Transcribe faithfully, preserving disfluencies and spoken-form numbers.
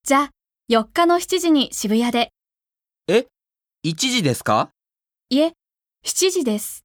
じゃあ、よっかのしちじに渋谷で。 え、いちじですか？ いえ、しちじです。